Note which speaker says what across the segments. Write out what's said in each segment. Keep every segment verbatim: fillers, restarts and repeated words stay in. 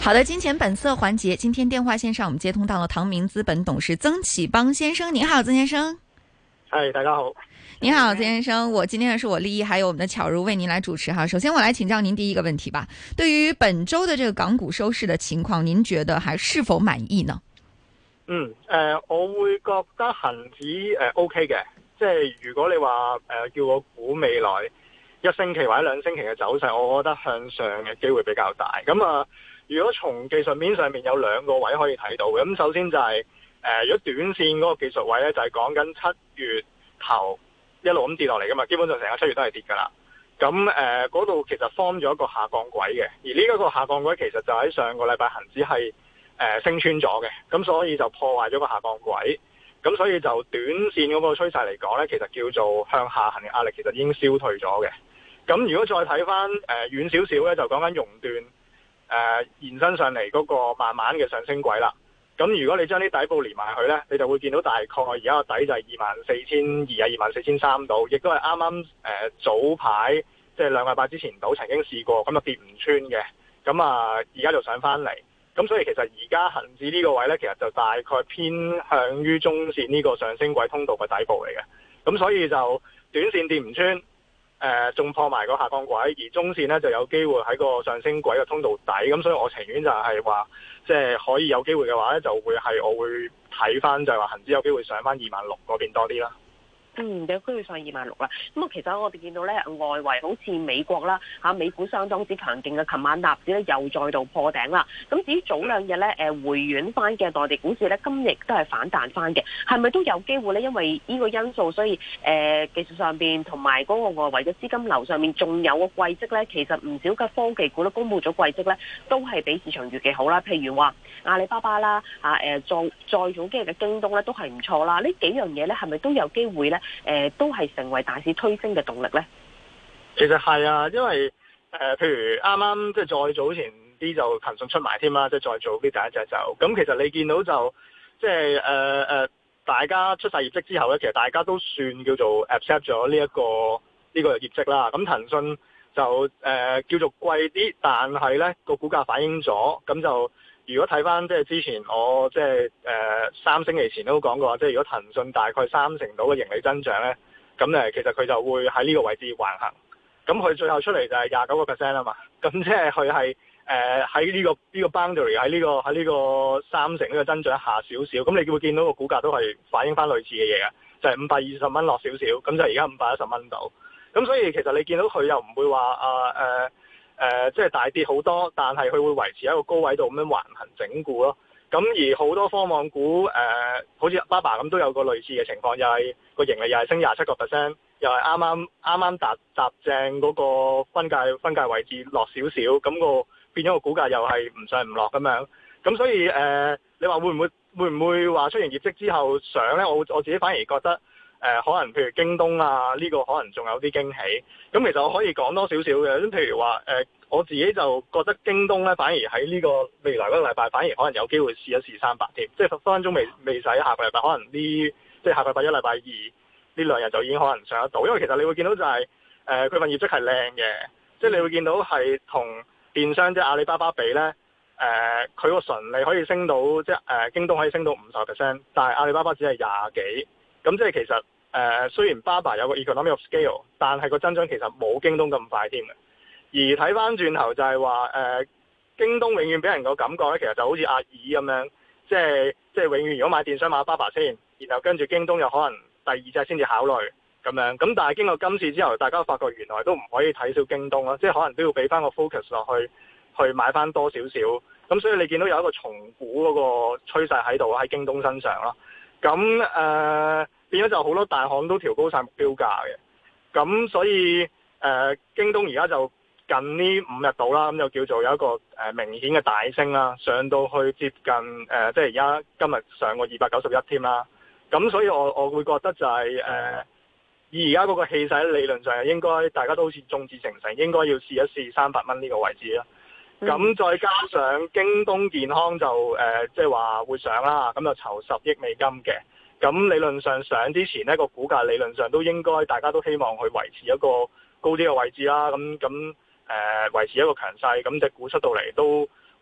Speaker 1: 好的，金錢本色環節，今天電話線上我們接通到了唐明資本董事曾啟邦先生。您好，曾先生。
Speaker 2: 係，大家好。
Speaker 1: 你好，曾先生。我今天呢是我立一，還有我們的巧如為您來主持哈。首先我來請教您第一個問題吧。對於本周的這個港股收市的情況，您覺得還是否滿意呢？
Speaker 2: 嗯，誒、呃，我會覺得恒指誒、呃、OK 嘅，即係如果你話誒、呃、叫我估未來一星期或者兩星期嘅走勢，我覺得向上嘅機會比較大。咁啊、呃，如果從技術面上面有兩個位可以睇到嘅，咁首先就係、是、誒、呃，如果短線嗰個技術位咧，就係講緊七月頭一路咁跌落嚟噶嘛，基本上成個七月都係跌噶啦。咁誒嗰度其實 form 咗一個下降軌嘅，而呢一個下降軌其實就喺上個禮拜恒指係誒、呃、升穿咗嘅，咁所以就破壞咗個下降軌。咁所以就短線嗰個趨勢嚟講咧，其實叫做向下行嘅壓力其實已經消退咗嘅。咁如果再睇翻誒遠少少咧，就講緊熔斷誒延伸上嚟嗰個慢慢嘅上升軌啦。咁如果你將啲底部連埋去呢，你就會見到大概而家個底就係二萬四千二啊，二萬四千三度，亦都係啱啱誒早排即係兩個禮拜之前度曾經試過，咁啊跌唔穿嘅，咁啊而家就上翻嚟，咁所以其實而家恒指呢個位呢，其實就大概偏向於中線呢個上升軌通道嘅底部嚟嘅，咁所以就短線跌唔穿。誒仲、呃、破埋個下降軌，而中線呢就有機會喺個上升軌嘅通道底，咁所以我情願就係話，即係可以有機會嘅話呢，就會係我會睇翻就係話恒指有機會上翻二萬六嗰邊多啲啦。
Speaker 3: 嗯，有機會上二萬六啦。咁啊，其實我哋見到咧，外圍好似美國啦，嚇美股相當之強勁嘅，琴晚納指咧又再度破頂啦。咁至於早兩日咧，誒回軟翻嘅內地股市咧，今日都係反彈翻嘅，係咪都有機會咧？因為呢個因素，所以誒、呃、技術上邊同埋嗰個外圍嘅資金流上面，仲有個季績咧，其實唔少嘅科技股都公布咗季績咧，都係比市場預期好啦。譬如話阿里巴巴啦，嚇誒再再早幾日嘅京東咧，都係唔錯啦。呢幾樣嘢咧，係咪都有機會咧？誒、呃、都係成為大市推升嘅動力呢？
Speaker 2: 其實係啊，因為誒、呃，譬如啱啱即係再早前啲就騰訊出埋添啦，即係再早啲第一隻就咁。其實你見到就即係誒誒，大家出晒業績之後呢，其實大家都算叫做 accept 咗呢一個呢、呢個業績啦。咁騰訊就誒、呃、叫做貴啲，但係呢個股價反映咗，咁就。如果睇翻即係之前我即係誒三星期前都講過，即係如果騰訊大概三成到嘅盈利增長咧，咁誒其實佢就會喺呢個位置橫行。咁佢最後出嚟就係廿九個 percent 啊嘛。咁即係佢係誒喺呢個呢、呢個 boundary 喺呢、呢個喺呢個三成呢個增長下少少。咁你會見到個股價都係反映翻類似嘅嘢嘅，就係五百二十蚊落少少，咁就而家五百一十蚊度。咁所以其實你見到佢又唔會話啊誒。呃誒、呃，即係大跌好多，但係佢會維持喺一個高位度咁樣橫行整固咯。咁而好多科網股誒、呃，好似巴巴咁都有個類似嘅情況，又係個盈利又係升廿七個 percent，又係啱啱啱啱踏踏正嗰個分界分界位置落少少，咁、那個變咗個股價又係唔上唔落咁樣。咁所以誒、呃，你話會唔會會唔會話出完業績之後上咧？我我自己反而覺得。誒、呃、可能譬如京東啊，呢、這個可能仲有啲驚喜。咁其實我可以講多少少嘅。咁譬如話誒、呃，我自己就覺得京東咧，反而喺呢個未來嗰個禮拜，反而可能有機會試一試三百添。即係分分鐘未未使下個禮拜，可能呢即係下個禮拜一、禮拜二呢兩日就已經可能上得到。因為其實你會見到就係誒佢份業績係靚嘅，即係你會見到係同電商即係阿里巴巴比咧，誒佢個純利可以升到即係誒、呃、京東可以升到五十 percent， 但係阿里巴巴只係廿幾。咁即係其實誒、呃，雖然巴巴有個 economy of scale，但係個增長其實冇京東咁快添嘅。而睇翻轉頭就係話誒，京東永遠俾人個感覺咧，其實就好似阿里咁樣，即係即係永遠如果買電商買巴巴先，然後跟住京東又可能第二隻先至考慮咁樣。咁但係經過今次之後，大家發覺原來都唔可以睇少京東咯，即係可能都要俾翻個 focus 落去，去買翻多少少。咁所以你見到有一個重估嗰個趨勢喺度喺京東身上咯。咁誒、呃、變咗就好多大行都調高晒目標價嘅，咁所以誒、呃、京東而家就近呢五日到啦，咁就叫做有一個誒、呃、明顯嘅大升啦，上到去接近誒、呃、即係而家今日上個二百九十一添啦，咁所以我我會覺得就係、是、誒、呃、以而家嗰個氣勢理論上應該大家都好似眾志成城，應該要試一試三百蚊呢個位置啦。咁、嗯、再加上京東健康就誒，即係話會上啦，咁就籌十億美金嘅。咁理論上上之前呢個股價理論上都應該大家都希望去維持一個高啲嘅位置啦。咁咁誒維持一個強勢，咁隻股出到嚟都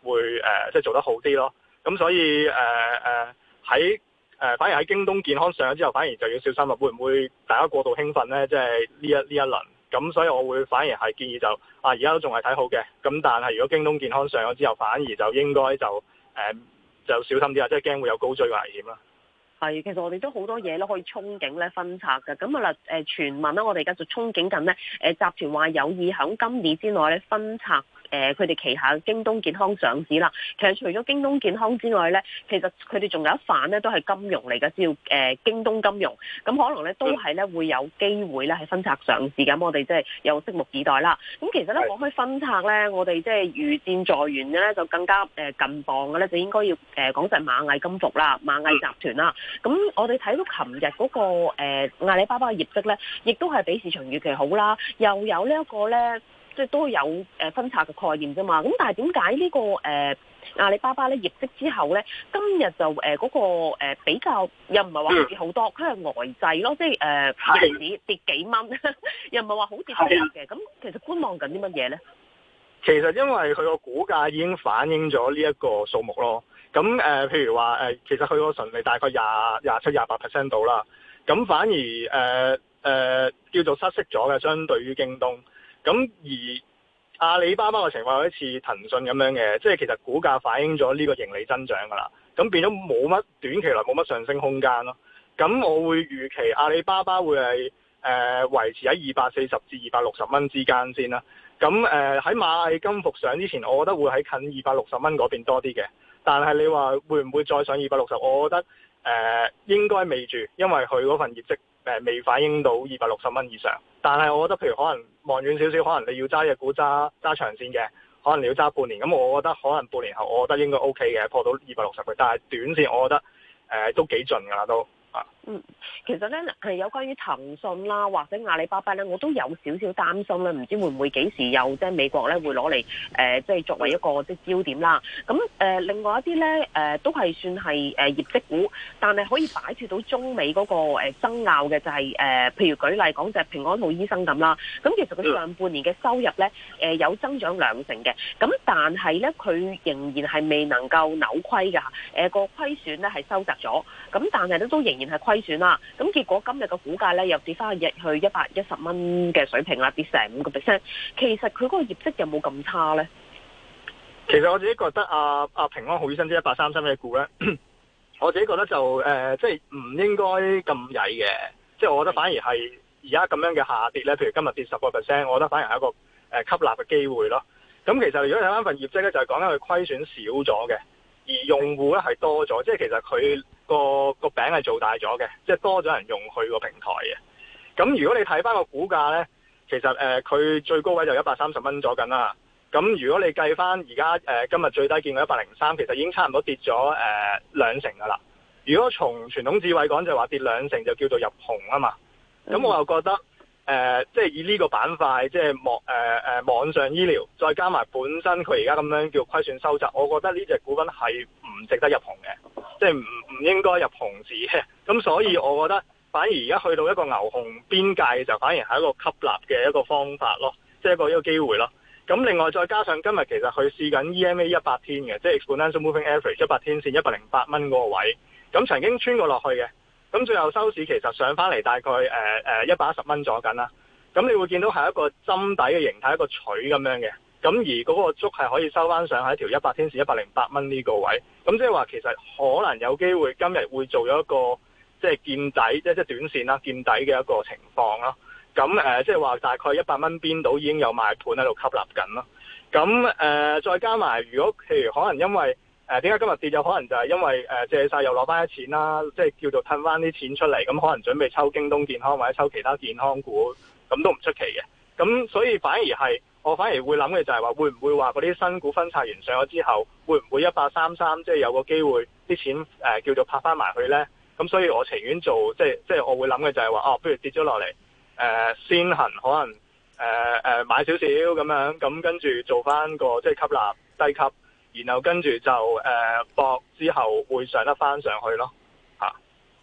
Speaker 2: 會誒、呃、即係做得好啲咯。咁所以誒誒喺誒反而喺京東健康上咗之後，反而就要小心啦。會唔會大家過度興奮咧？即係呢一呢一輪。咁所以我會反而係建議就啊，而家都仲係睇好嘅。咁但係如果京東健康上咗之後，反而就應該就誒、呃、就小心啲啊，即係驚會有高追嘅危險啦。
Speaker 3: 係，其實我哋都好多嘢咧可以憧憬咧分拆嘅。咁啊啦，誒傳聞啦，我哋而家就憧憬緊咧，誒集團話有意響今年之內咧分拆誒佢哋旗下京東健康上市啦。其實除咗京東健康之外咧，其實佢哋仲有一範咧都係金融嚟嘅，叫誒京東金融。咁可能咧都係咧會有機會咧係分拆上市。咁我哋即係有拭目以待啦。咁其實咧講開分拆咧，我哋即係如箭在弦嘅咧，就更加誒近磅嘅咧，就應該要誒講就係螞蟻金服啦，螞蟻集團啦。咁我哋睇到琴日嗰個誒、呃、阿里巴巴嘅業績咧，亦都係比市場預期好啦，又有呢一個咧，即係都有誒分拆嘅概念啫嘛。咁但係點解呢個誒、呃、阿里巴巴咧業績之後咧，今日就誒嗰、呃那個、呃、比較又唔係話跌好多，佢係呆滯咯，即係誒日市跌幾蚊，又唔係話好跌好嘅。咁其實觀望緊啲乜嘢咧？
Speaker 2: 其實因為佢個股價已經反映咗呢一個數目咯。咁誒、呃，譬如話誒、呃，其實佢個純利大概廿廿七、廿八 percent 到啦。咁反而誒誒、呃呃、叫做失色咗嘅，相對於京東。咁而阿里巴巴嘅情況好似騰訊咁樣嘅，即係其實股價反映咗呢個盈利增長㗎啦。咁變咗冇乜短期內冇乜上升空間咯。咁我會預期阿里巴巴會係誒、呃、維持喺二百四十至二百六十蚊之間先啦。咁誒喺螞蟻金服上之前，我覺得會喺近二百六十蚊嗰邊多啲嘅。但係你話會唔會再上二百六十？我覺得誒、呃、應該未住，因為佢嗰份業績誒、呃、未反映到二百六十蚊以上。但係我覺得譬如可能望遠少少，可能你要揸隻股揸揸長線嘅，可能你要揸半年。咁我覺得可能半年後，我覺得應該 OK 嘅，破到二百六十嘅。但係短線我覺得誒、呃、都幾盡㗎啦都。
Speaker 3: 嗯，其實咧係有關於騰訊啦，或者阿里巴巴咧，我都有少少擔心咧，唔知會唔會幾時有即係美國咧會攞嚟誒，即係作為一個即係焦點啦。咁誒、呃，另外一啲咧誒，都係算係誒業績股，但係可以擺脫到中美嗰個誒爭拗嘅就係、是、誒、呃，譬如舉例講就係平安好醫生咁啦。咁其實佢上半年嘅收入咧誒、呃、有增長兩成嘅，咁但係咧佢仍然係未能夠扭虧㗎。誒、呃、個虧損咧係收窄咗，咁但係咧都仍然係虧損啦，咁結果今日嘅股價咧又跌翻去去一百一十蚊嘅水平啦，跌成五個 percent。其實佢嗰個業績有冇咁差咧？
Speaker 2: 其實我自己覺得啊啊平安好醫生即係一百三十嘅股咧，我自己覺得就誒、呃、即係唔應該咁曳嘅，即係我覺得反而係而家咁樣嘅下跌咧，譬如今日跌十個 percent，我覺得反而係一個誒、呃、吸納嘅機會咯。咁其實如果睇翻份業績咧，就係講緊佢虧損少咗嘅，而用戶咧係多咗，即係其實佢。個個餅係做大咗嘅，即係多咗人用佢個平台嘅。咁如果你睇翻個股價呢，其實誒佢、呃、最高位就一百三十蚊左緊啦。咁如果你計翻而家誒今日最低見過一百零三，其實已經差唔多跌咗誒、呃、兩成噶啦。如果從傳統智慧講就話跌兩成就叫做入紅啊嘛。咁我又覺得誒、呃、即係以呢個板塊，即係網誒誒網上醫療，再加埋本身佢而家咁樣叫虧損收窄，我覺得呢隻股份係唔值得入紅嘅。即係唔唔應該入紅字嘅，咁所以我覺得反而而家去到一個牛熊邊界嘅時候，反而係一個吸納嘅一個方法咯，即係一個一個機會咯。咁另外再加上今日其實佢試緊 E M A 一百天嘅，即係 Exponential Moving Average 一百天線一百零八蚊嗰個位，咁曾經穿過落去嘅，咁最後收市其實上翻嚟大概誒誒一百一十蚊左緊啦。咁你會見到係一個針底嘅形態，一個錘咁樣嘅。咁而嗰個足係可以收翻上喺條一百天線一百零八蚊呢個位，咁即係話其實可能有機會今日會做咗一個即係見底，即係即係短線啦，見底嘅一個情況咯。咁誒即係話大概一百蚊邊度已經有賣盤喺度吸納緊咯。咁誒、呃、再加埋，如果譬如可能因為誒點解今日跌，有可能就係因為誒借晒又攞翻啲錢啦，即係叫做褪翻啲錢出嚟，咁可能準備抽京東健康或者抽其他健康股，咁都唔出奇嘅。咁所以反而係。我反而會諗嘅就係話，會唔會話嗰啲新股分拆完上咗之後，會唔會一八三三即係有個機會啲錢誒、呃、叫做拍翻埋去呢？咁所以我情願做即係即係我會諗嘅就係話，哦，不如跌咗落嚟誒先行可能誒誒、呃呃、買少少咁樣，咁跟住做翻個即係吸納低級，然後跟住就誒博、呃、之後會上得翻上去咯嚇。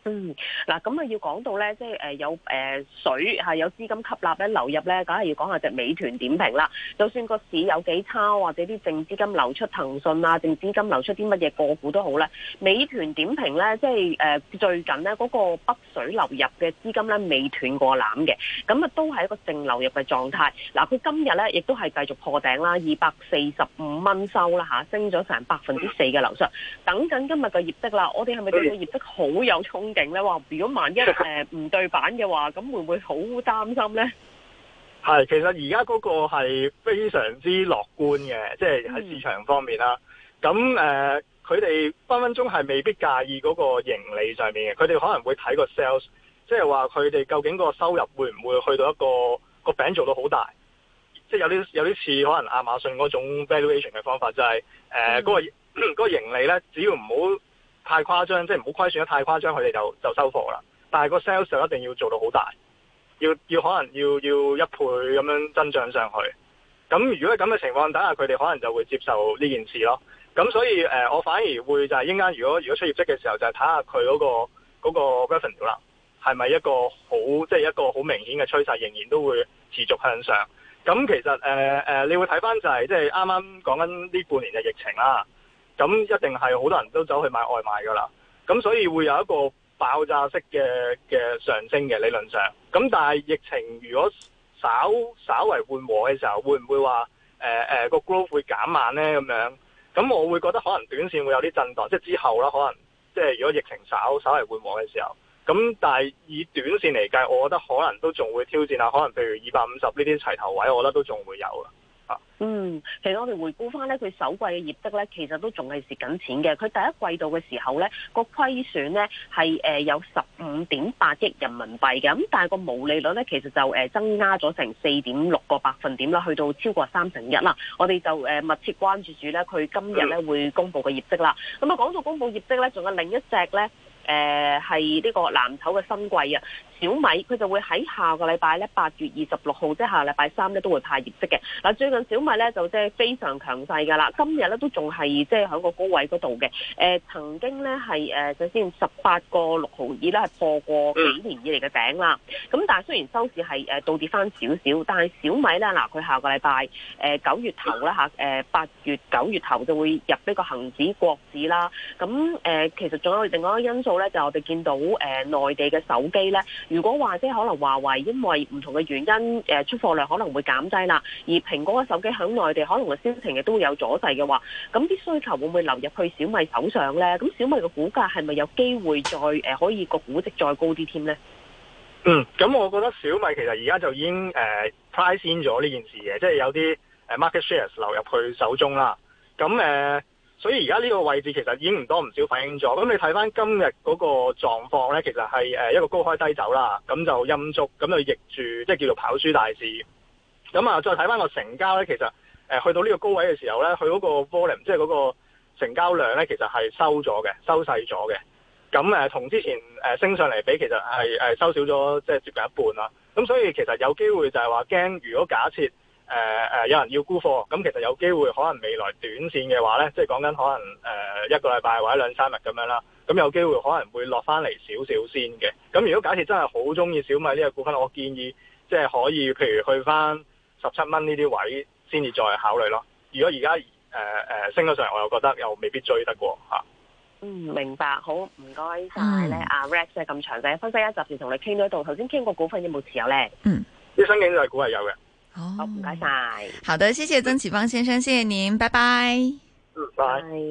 Speaker 3: 嗯，嗱，咁啊要講到咧，即係誒有誒水係有資金吸納咧流入咧，梗係要講下隻美團點評啦。就算個市有幾差，或者啲淨資金流出騰訊啊，淨資金流出啲乜嘢個股都好咧，美團點評咧，即係誒最近咧嗰個北水流入嘅資金咧未斷過纜嘅，咁啊都係一個淨流入嘅狀態。嗱，佢今日咧亦都係繼續破頂啦，二百四十五蚊收啦嚇，升咗成百分之四嘅樓上。等緊今日嘅業績啦，我哋係咪對個業績好有衝勁咧？話如果萬一誒唔對版嘅話，咁會唔會好擔心咧？
Speaker 2: 係，其實而家嗰個係非常之樂觀嘅，即係喺市場方面啦。咁誒、嗯，佢哋分分鐘係未必介意嗰個盈利上面嘅，佢哋可能會睇個 sales， 即係話佢哋究竟個收入會唔會去到一個個餅做到好大，即係有啲有啲似可能亞馬遜嗰種 valuation 嘅方法，就係誒嗰個嗰、嗰個盈利咧，只要唔好太誇張，即係唔好虧損得太誇張，佢哋就就收貨啦。但係個 sales 就一定要做到好大，要要可能要要一倍咁樣增長上去。咁如果咁嘅情況底下，佢哋可能就會接受呢件事咯。咁所以誒、呃，我反而會就係應間如果如果出業績嘅時候，就係睇下佢嗰個嗰個 revenue 啦，係咪一個好即係一個好明顯嘅趨勢，仍然都會持續向上。咁其實誒誒、呃呃，你會睇翻就係即係啱啱講緊呢半年嘅疫情啦。咁一定係好多人都走去買外賣㗎啦，咁所以會有一個爆炸式嘅嘅上升嘅理論上。咁但係疫情如果稍稍為緩和嘅時候，會唔會話誒誒個 growth 會減慢呢？咁樣？咁我會覺得可能短線會有啲震盪，即係之後啦，可能即係如果疫情稍稍為緩和嘅時候。咁但係以短線嚟計，我覺得可能都仲會挑戰下，可能譬如二百五十呢啲齊頭位，我覺得都仲會有啦。
Speaker 3: 嗯，其實我哋回顧翻咧，佢首季嘅業績咧，其實都仲係蝕緊錢嘅。佢第一季度嘅時候咧，個虧損咧係誒有十五點八億人民幣嘅，咁但係個毛利率咧其實就誒增加咗成四點六個百分點啦，去到超過三成一啦。我哋就誒密切關注住咧，佢今日咧會公布嘅業績啦。咁啊講到公布業績咧，仲有另一隻咧。誒係呢個藍籌嘅新貴啊，小米佢就會喺下個禮拜咧八月二十六號，即係下禮拜三咧都會派業績嘅。嗱，最近小米咧就即係非常強勢㗎啦，今日咧都仲係即係喺個高位嗰度嘅。誒、呃、曾經咧係誒首先十八個六毫二咧係破過幾年以嚟嘅頂啦。咁但係雖然收市係誒倒跌翻少少，但係小米咧嗱佢下個禮拜誒九月頭咧嚇誒八月九月頭就會入呢個恆指國指啦。咁誒、呃、其實仲有另外一個因素。咧就我哋見到誒、呃、內地嘅手機咧，如果話即係可能華為因為唔同嘅原因誒、呃、出貨量可能會減低啦，而蘋果嘅手機響內地可能嘅銷情亦都會有阻滯嘅話，咁啲需求會唔會流入去小米手上咧？咁小米嘅股價係咪有機會再誒、呃、可以個估值再高啲添咧？
Speaker 2: 嗯，咁我覺得小米其實而家就已經誒、呃、price in 咗呢件事嘅，即係有啲誒 market shares 流入去手中啦。咁誒。呃所以而家呢個位置其實已經唔多唔少反映咗。咁你睇翻今日嗰個狀況呢，其實係誒一個高開低走啦，咁就陰燭，咁就逆住，即係叫做跑輸大市。咁啊，再睇翻個成交呢，其實誒去到呢個高位嘅時候呢，佢嗰個 volume，即係嗰個成交量呢，其實係收咗嘅，收細咗嘅。咁誒同之前誒升上嚟比，其實係誒收少咗，即係接近一半啦。咁所以其實有機會就係話驚，如果假設誒誒、呃，有人要沽貨，咁其實有機會可能未來短線嘅話呢，即係講緊可能誒、呃、一個禮拜或者兩三日咁樣啦，咁有機會可能會落翻嚟少少先嘅。咁如果假設真係好中意小米呢個股份，我建議即係可以，譬如去翻十七蚊呢啲位先至再考慮咯。如果而家誒誒升咗上嚟，我又覺得又未必追得過嚇。
Speaker 3: 嗯，明白，好，唔該晒咧，阿 Rex 咁詳細分析一集時同你傾到度。頭先傾過股份有冇持有咧？
Speaker 1: 嗯，
Speaker 2: 啲新經濟股係有嘅。
Speaker 3: 好，唔該晒。
Speaker 1: 好的，謝謝曾啟邦先生，謝謝您，拜拜。
Speaker 2: 嗯，拜。